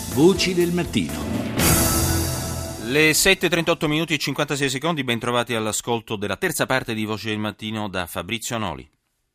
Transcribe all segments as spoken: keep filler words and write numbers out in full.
Voci del mattino. Le sette e trentotto minuti e cinquantasei secondi, ben trovati all'ascolto della terza parte di Voci del Mattino da Fabrizio Noli.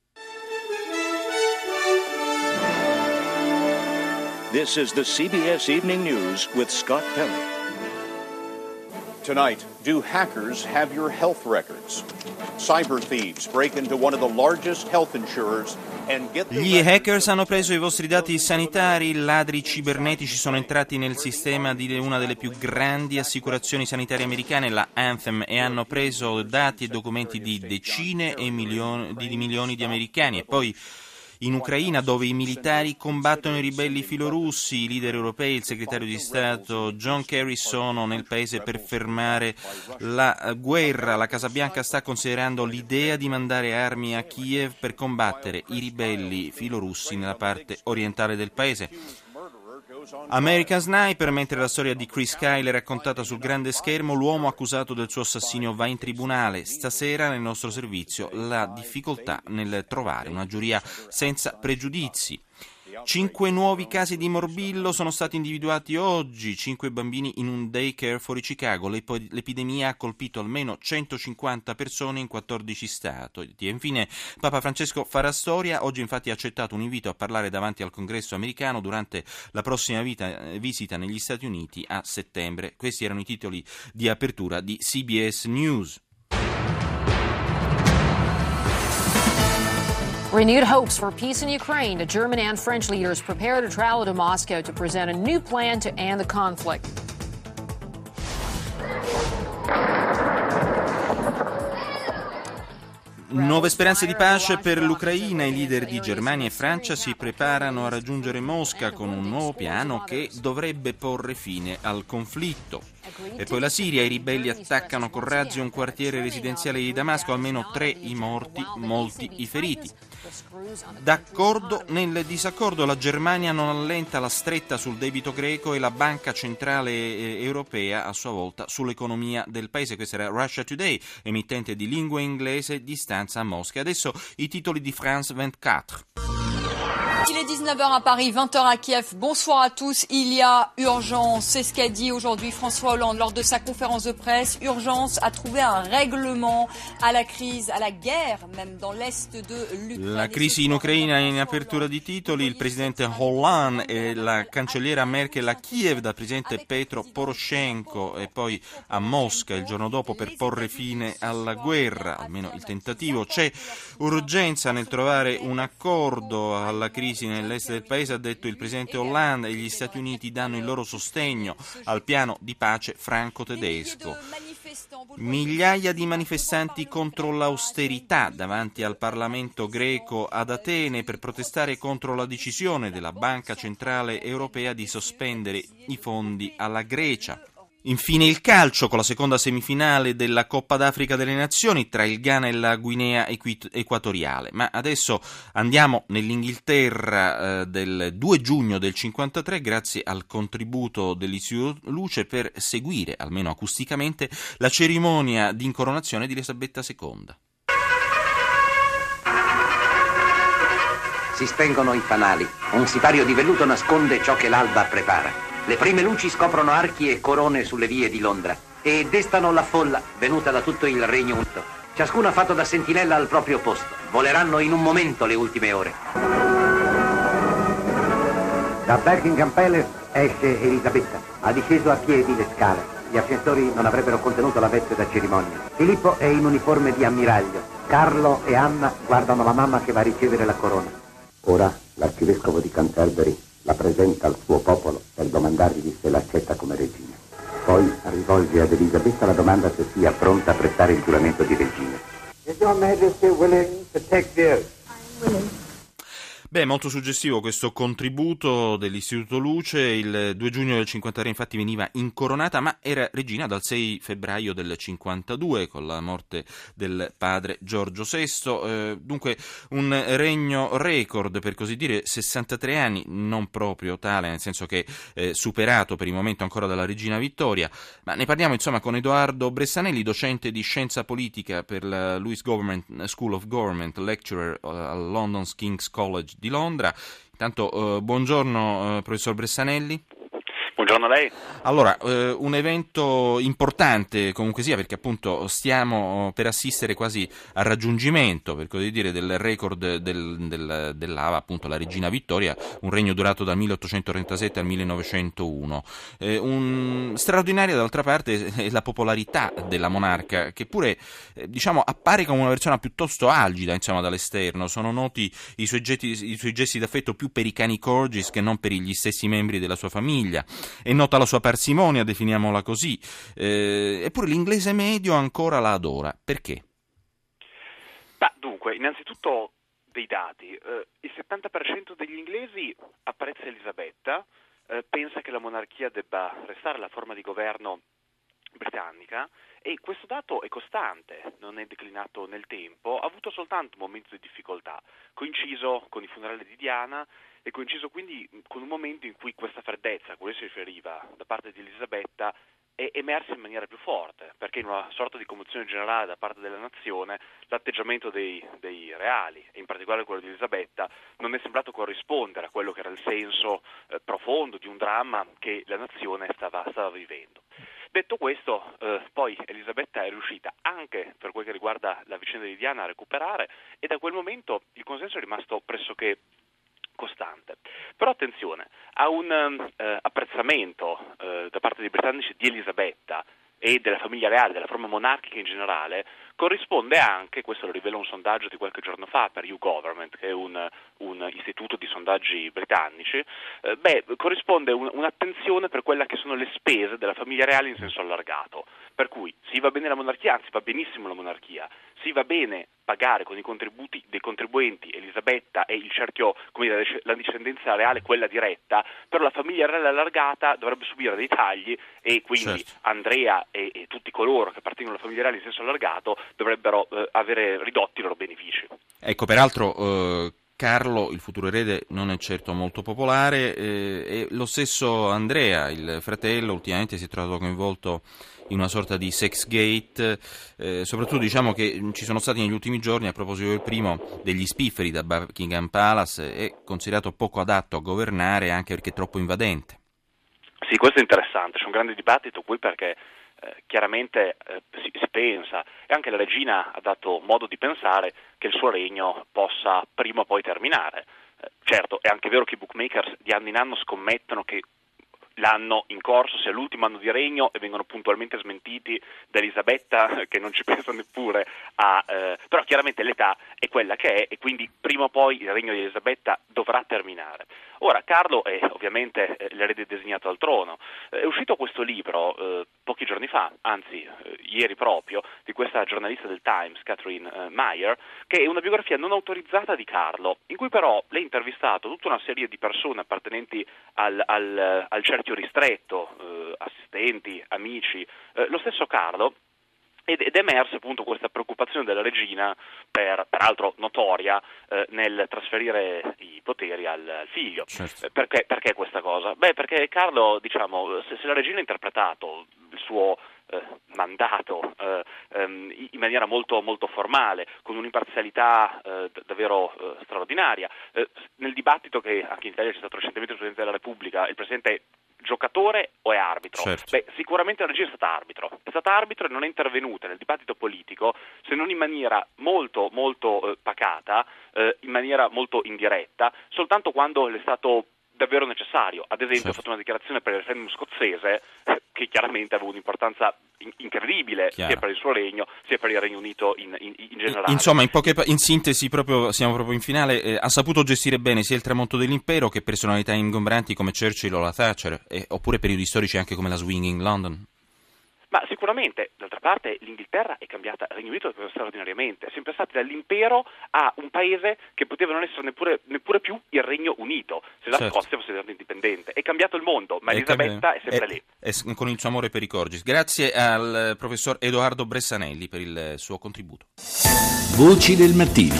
This is the C B S Evening News with Scott Pelley. Tonight, do hackers have your health records? Cyber thieves break into one of the largest health insurers and get their Gli hackers hanno preso i vostri dati sanitari, ladri cibernetici sono entrati nel sistema di una delle più grandi assicurazioni sanitarie americane, la Anthem, e hanno preso dati e documenti di decine e milioni di, di milioni di americani. E poi in Ucraina, dove i militari combattono i ribelli filorussi, i leader europei e il segretario di Stato John Kerry sono nel paese per fermare la guerra. La Casa Bianca sta considerando l'idea di mandare armi a Kiev per combattere i ribelli filorussi nella parte orientale del paese. American Sniper, mentre la storia di Chris Kyle è raccontata sul grande schermo, l'uomo accusato del suo assassinio va in tribunale. Stasera nel nostro servizio la difficoltà nel trovare una giuria senza pregiudizi. Cinque nuovi casi di morbillo sono stati individuati oggi, cinque bambini in un daycare fuori Chicago. L'epidemia ha colpito almeno centocinquanta persone in quattordici stati. E infine Papa Francesco farà storia. Oggi infatti ha accettato un invito a parlare davanti al Congresso americano durante la prossima vita, visita negli Stati Uniti a settembre. Questi erano i titoli di apertura di C B S News. Renewed hopes for peace in Ukraine. The German and French leaders prepare to travel to Moscow to present a new plan to end the conflict. Nuove speranze di pace per l'Ucraina. I leader di Germania e Francia si preparano a raggiungere Mosca con un nuovo piano che dovrebbe porre fine al conflitto. E poi la Siria, i ribelli attaccano con razzi un quartiere residenziale di Damasco, almeno tre i morti, molti i feriti. D'accordo nel disaccordo, la Germania non allenta la stretta sul debito greco e la Banca Centrale Europea a sua volta sull'economia del paese. Questa era Russia Today, emittente di lingua inglese di stanza a Mosca. Adesso i titoli di France ventiquattro. Il est dix-neuf heures à Paris, vingt heures à Kiev. Bonsoir à tous. Il y a urgence. C'est ce qu'a dit aujourd'hui François Hollande lors de sa conférence de presse. Urgence à trouver un règlement à la crise, à la guerre, même dans l'est de l'Ucraine. La crisi in Ucraina in apertura di titoli. Il presidente Hollande e la cancelliera Merkel a Kiev dal presidente Petro Poroshenko e poi a Mosca il giorno dopo per porre fine alla guerra, almeno il tentativo. C'è urgenza nel trovare un accordo alla crisi nell'est del paese, ha detto il presidente Hollande, e gli Stati Uniti danno il loro sostegno al piano di pace franco-tedesco. Migliaia di manifestanti contro l'austerità davanti al Parlamento greco ad Atene per protestare contro la decisione della Banca Centrale Europea di sospendere i fondi alla Grecia. Infine il calcio, con la seconda semifinale della Coppa d'Africa delle Nazioni tra il Ghana e la Guinea Equatoriale. Ma adesso andiamo nell'Inghilterra eh, del due giugno del cinquantatré, grazie al contributo dell'Istituto Luce, per seguire, almeno acusticamente, la cerimonia di incoronazione di Elisabetta seconda. Si spengono i fanali. Un sipario di velluto nasconde ciò che l'alba prepara. Le prime luci scoprono archi e corone sulle vie di Londra e destano la folla venuta da tutto il Regno Unito. Ciascuno ha fatto da sentinella al proprio posto. Voleranno in un momento le ultime ore. Da Buckingham Palace esce Elisabetta. Ha disceso a piedi le scale. Gli ascensori non avrebbero contenuto la veste da cerimonia. Filippo è in uniforme di ammiraglio. Carlo e Anna guardano la mamma che va a ricevere la corona. Ora l'arcivescovo di Canterbury la presenta al suo popolo per domandargli se l'accetta come regina. Poi rivolge ad Elisabetta la domanda se sia pronta a prestare il giuramento di regina. Is your Majesty willing to take the oath? I'm willing. Beh, molto suggestivo questo contributo dell'Istituto Luce. Il due giugno del cinquantatré infatti veniva incoronata, ma era regina dal sei febbraio del cinquantadue con la morte del padre Giorgio sesto. Eh, dunque un regno record, per così dire, sessantatré anni, non proprio tale, nel senso che eh, superato per il momento ancora dalla regina Vittoria. Ma ne parliamo insomma con Edoardo Bressanelli, docente di scienza politica per la Lewis Government School of Government, lecturer al London's King's College di Londra. Intanto, eh, buongiorno eh, professor Bressanelli. Buongiorno a lei. Allora, eh, un evento importante comunque sia, perché appunto stiamo per assistere quasi al raggiungimento, per così dire, del record del, del, dell'Ava, appunto la regina Vittoria, un regno durato dal milleottocentotrentasette al millenovecentouno. Eh, un, straordinaria d'altra parte è la popolarità della monarca, che pure eh, diciamo appare come una persona piuttosto algida, insomma, dall'esterno. Sono noti i suoi, gesti, i suoi gesti d'affetto più per i cani corgis che non per gli stessi membri della sua famiglia. È nota la sua parsimonia, definiamola così, eh, eppure l'inglese medio ancora la adora. Perché? Bah, dunque, innanzitutto dei dati. Eh, il settanta per cento degli inglesi apprezza Elisabetta, eh, pensa che la monarchia debba restare la forma di governo britannica, e questo dato è costante, non è declinato nel tempo, ha avuto soltanto momenti di difficoltà, coinciso con i funerali di Diana e coinciso quindi con un momento in cui questa freddezza a cui si riferiva da parte di Elisabetta è emersa in maniera più forte, perché in una sorta di commozione generale da parte della nazione l'atteggiamento dei, dei reali, e in particolare quello di Elisabetta, non è sembrato corrispondere a quello che era il senso eh, profondo di un dramma che la nazione stava, stava vivendo. Detto questo, eh, poi Elisabetta è riuscita anche per quel che riguarda la vicenda di Diana a recuperare, e da quel momento il consenso è rimasto pressoché costante. Però attenzione, a un eh, apprezzamento eh, da parte dei britannici di Elisabetta e della famiglia reale, della forma monarchica in generale, corrisponde anche, questo lo rivela un sondaggio di qualche giorno fa per YouGovernment, che è un, un istituto di sondaggi britannici, eh, beh, corrisponde un, un'attenzione per quella che sono le spese della famiglia reale in senso allargato, per cui sì, va bene la monarchia, anzi va benissimo la monarchia, sì, va bene pagare con i contributi dei contribuenti Elisabetta e il cerchio, come dire, la discendenza reale, quella diretta, però la famiglia reale allargata dovrebbe subire dei tagli, e quindi certo. Andrea e, e tutti coloro che appartengono alla famiglia reale in senso allargato dovrebbero eh, avere ridotti i loro benefici. Ecco, peraltro eh, Carlo, il futuro erede, non è certo molto popolare, eh, e lo stesso Andrea, il fratello, ultimamente si è trovato coinvolto in una sorta di sex gate, eh, soprattutto diciamo che ci sono stati negli ultimi giorni, a proposito del primo, degli spifferi da Buckingham Palace, è considerato poco adatto a governare anche perché è troppo invadente. Sì, questo è interessante, c'è un grande dibattito qui perché eh, chiaramente eh, si, si pensa, e anche la regina ha dato modo di pensare, che il suo regno possa prima o poi terminare. Eh, certo, è anche vero che i bookmakers di anno in anno scommettono che l'anno in corso sia l'ultimo anno di regno, e vengono puntualmente smentiti da Elisabetta, che non ci pensa neppure a... Eh, però chiaramente l'età è quella che è, e quindi prima o poi il regno di Elisabetta dovrà terminare. Ora, Carlo è ovviamente eh, l'erede designato al trono. Eh, è uscito questo libro eh, pochi giorni fa, anzi eh, ieri proprio, di questa giornalista del Times, Catherine eh, Meyer, che è una biografia non autorizzata di Carlo, in cui però lei ha intervistato tutta una serie di persone appartenenti al, al, al cerchio ristretto, eh, assistenti, amici, eh, lo stesso Carlo, ed è emersa appunto questa preoccupazione della regina, per, peraltro notoria, eh, nel trasferire i poteri al, al figlio. Certo. Eh, perché, perché questa cosa? Beh, perché Carlo, diciamo, se, se la regina ha interpretato il suo eh, mandato eh, ehm, in maniera molto, molto formale, con un'imparzialità eh, davvero eh, straordinaria, eh, nel dibattito che anche in Italia c'è stato recentemente il Presidente della Repubblica, il Presidente giocatore o è arbitro? Certo. Beh, sicuramente la regina è stata arbitro, è stata arbitro e non è intervenuta nel dibattito politico, se non in maniera molto molto eh, pacata, eh, in maniera molto indiretta, soltanto quando le è stato davvero necessario. Ad esempio, certo. ha fatto una dichiarazione per il referendum scozzese eh, che chiaramente aveva un'importanza in- incredibile, Chiaro. sia per il suo regno sia per il Regno Unito in, in, in generale. Insomma, in, poche, in sintesi, proprio, siamo proprio in finale, eh, ha saputo gestire bene sia il tramonto dell'impero che personalità ingombranti come Churchill o la Thatcher, eh, oppure periodi storici anche come la Swinging London. Ma sicuramente, d'altra parte, l'Inghilterra è cambiata, il Regno Unito è cambiato straordinariamente, è sempre stato dall'impero a un paese che poteva non essere neppure, neppure più il Regno Unito, se la certo. Scozia fosse diventata indipendente. È cambiato il mondo, ma è Elisabetta cambi- è sempre è, lì. È, con il suo amore per i corgis. Grazie al professor Edoardo Bressanelli per il suo contributo. Voci del mattino.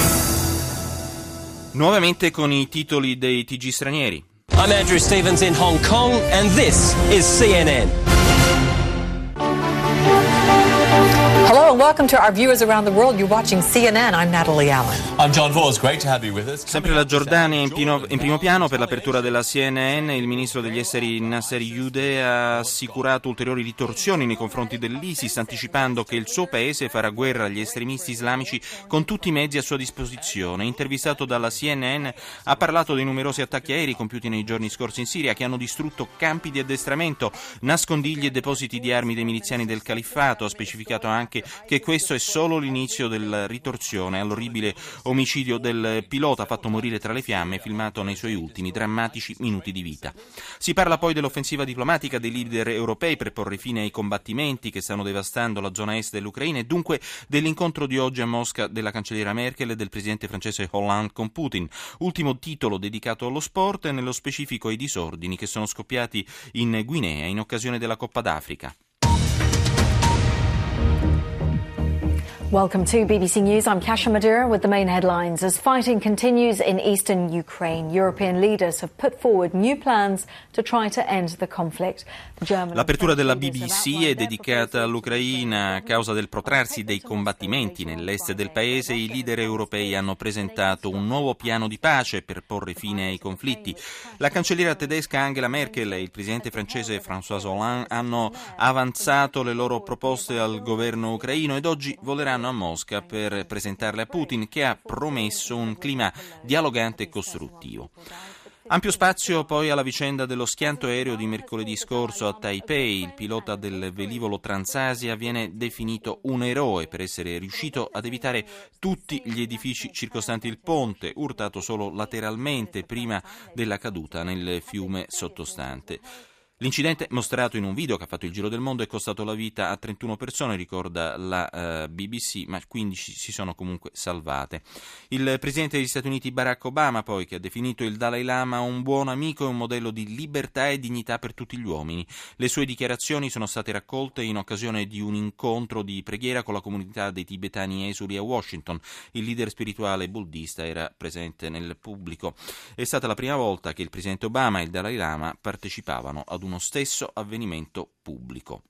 Nuovamente con i titoli dei T G stranieri. I'm Andrew Stevens in Hong Kong and this is C N N. Hello and welcome to our viewers around the world. You're watching C N N. I'm Natalie Allen. I'm John Vos. Great to have you with us. Sempre la Giordania in, pino, in primo piano per l'apertura della C N N. Il ministro degli esteri Nasser Youdeh ha assicurato ulteriori ritorsioni nei confronti dell'ISIS, anticipando che il suo paese farà guerra agli estremisti islamici con tutti i mezzi a sua disposizione. Intervistato dalla C N N, ha parlato dei numerosi attacchi aerei compiuti nei giorni scorsi in Siria che hanno distrutto campi di addestramento, nascondigli e depositi di armi dei miliziani del califfato. Ha specificato anche che questo è solo l'inizio della ritorsione all'orribile omicidio del pilota fatto morire tra le fiamme, filmato nei suoi ultimi drammatici minuti di vita. Si parla poi dell'offensiva diplomatica dei leader europei per porre fine ai combattimenti che stanno devastando la zona est dell'Ucraina e dunque dell'incontro di oggi a Mosca della cancelliera Merkel e del presidente francese Hollande con Putin. Ultimo titolo dedicato allo sport e nello specifico ai disordini che sono scoppiati in Guinea in occasione della Coppa d'Africa. Welcome to B B C News. I'm Kasia Madura with the main headlines. As fighting continues in eastern Ukraine, European leaders have put forward new plans to try to end the conflict. L'apertura della B B C è dedicata all'Ucraina. A causa del protrarsi dei combattimenti nell'est del paese, i leader europei hanno presentato un nuovo piano di pace per porre fine ai conflitti. La cancelliera tedesca Angela Merkel e il presidente francese François Hollande hanno avanzato le loro proposte al governo ucraino ed oggi voleranno a Mosca per presentarle a Putin, che ha promesso un clima dialogante e costruttivo. Ampio spazio poi alla vicenda dello schianto aereo di mercoledì scorso a Taipei. Il pilota del velivolo Transasia viene definito un eroe per essere riuscito ad evitare tutti gli edifici circostanti il ponte, urtato solo lateralmente prima della caduta nel fiume sottostante. L'incidente, mostrato in un video che ha fatto il giro del mondo, è costato la vita a trentuno persone, ricorda la uh, B B C, ma quindici si sono comunque salvate. Il presidente degli Stati Uniti Barack Obama, poi, che ha definito il Dalai Lama un buon amico e un modello di libertà e dignità per tutti gli uomini. Le sue dichiarazioni sono state raccolte in occasione di un incontro di preghiera con la comunità dei tibetani esuli a Washington. Il leader spirituale buddista era presente nel pubblico. È stata la prima volta che il presidente Obama e il Dalai Lama partecipavano ad uno stesso avvenimento pubblico.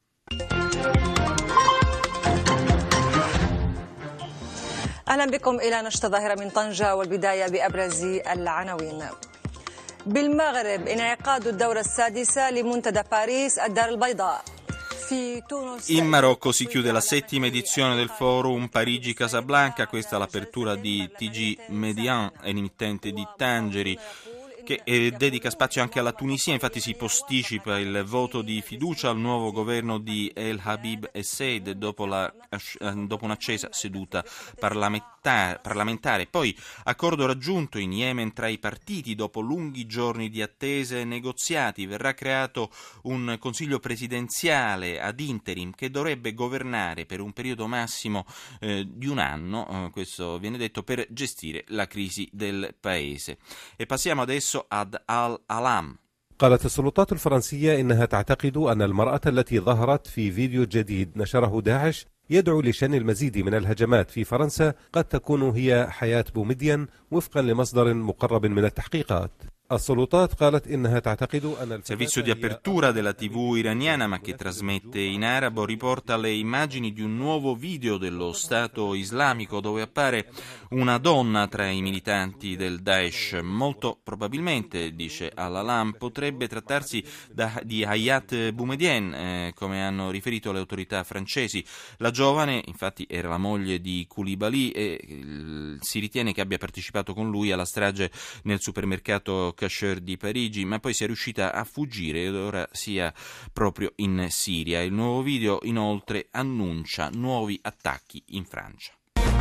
أهلا بكم إلى نشرة ظاهرة من طنجة والبداية بأبرز العناوين. بالمغرب انعقاد الدورة السادسة لمنتدى باريس الدار البيضاء. In Marocco si chiude la settima edizione del forum Parigi-Casablanca, questa è l'apertura di T G Median, emittente di Tangeri, che eh, dedica spazio anche alla Tunisia. Infatti si posticipa il voto di fiducia al nuovo governo di El Habib Essed dopo, la, dopo un'accesa seduta parlamentare, parlamentare. Poi accordo raggiunto in Yemen tra i partiti dopo lunghi giorni di attese e negoziati. Verrà creato un consiglio presidenziale ad interim che dovrebbe governare per un periodo massimo eh, di un anno, eh, questo viene detto, per gestire la crisi del paese. E passiamo adesso ad Al-Alam. قالت السلطات الفرنسية إنها تعتقد أن المرأة التي ظهرت في فيديو جديد نشره داعش يدعو لشن المزيد من الهجمات في فرنسا قد تكون هي حياة بومدين وفقا لمصدر مقرب من التحقيقات. Il servizio di apertura della tivù iraniana, ma che trasmette in arabo, riporta le immagini di un nuovo video dello Stato islamico dove appare una donna tra i militanti del Daesh. Molto probabilmente, dice Al-Alam, potrebbe trattarsi da, di Hayat Boumediene, eh, come hanno riferito le autorità francesi. La giovane, infatti, era la moglie di Koulibaly e eh, si ritiene che abbia partecipato con lui alla strage nel supermercato Kasher di Parigi, ma poi sia riuscita a fuggire ed ora sia proprio in Siria. Il nuovo video inoltre annuncia nuovi attacchi in Francia.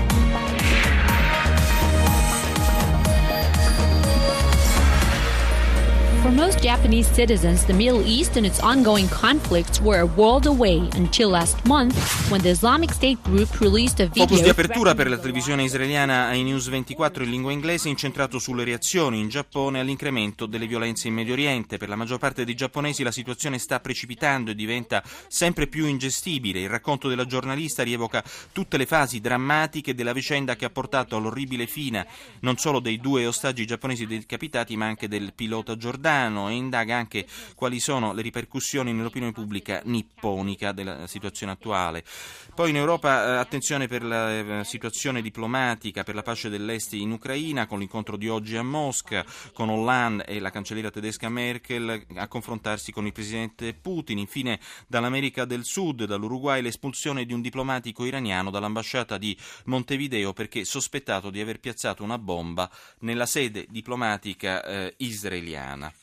For most Japanese citizens, the Middle East and its ongoing conflicts were a world away until last month when the Islamic State group released a video. Focus di apertura per la televisione israeliana ai News ventiquattro in lingua inglese, incentrato sulle reazioni in Giappone all'incremento delle violenze in Medio Oriente. Per la maggior parte dei giapponesi la situazione sta precipitando e diventa sempre più ingestibile. Il racconto della giornalista rievoca tutte le fasi drammatiche della vicenda che ha portato all'orribile fine non solo dei due ostaggi giapponesi decapitati, ma anche del pilota giordano. Giordano e indaga anche quali sono le ripercussioni nell'opinione pubblica nipponica della situazione attuale. Poi in Europa eh, attenzione per la eh, situazione diplomatica, per la pace dell'Est in Ucraina, con l'incontro di oggi a Mosca, con Hollande e la cancelliera tedesca Merkel a confrontarsi con il presidente Putin. Infine dall'America del Sud, dall'Uruguay, l'espulsione di un diplomatico iraniano dall'ambasciata di Montevideo perché sospettato di aver piazzato una bomba nella sede diplomatica eh, israeliana.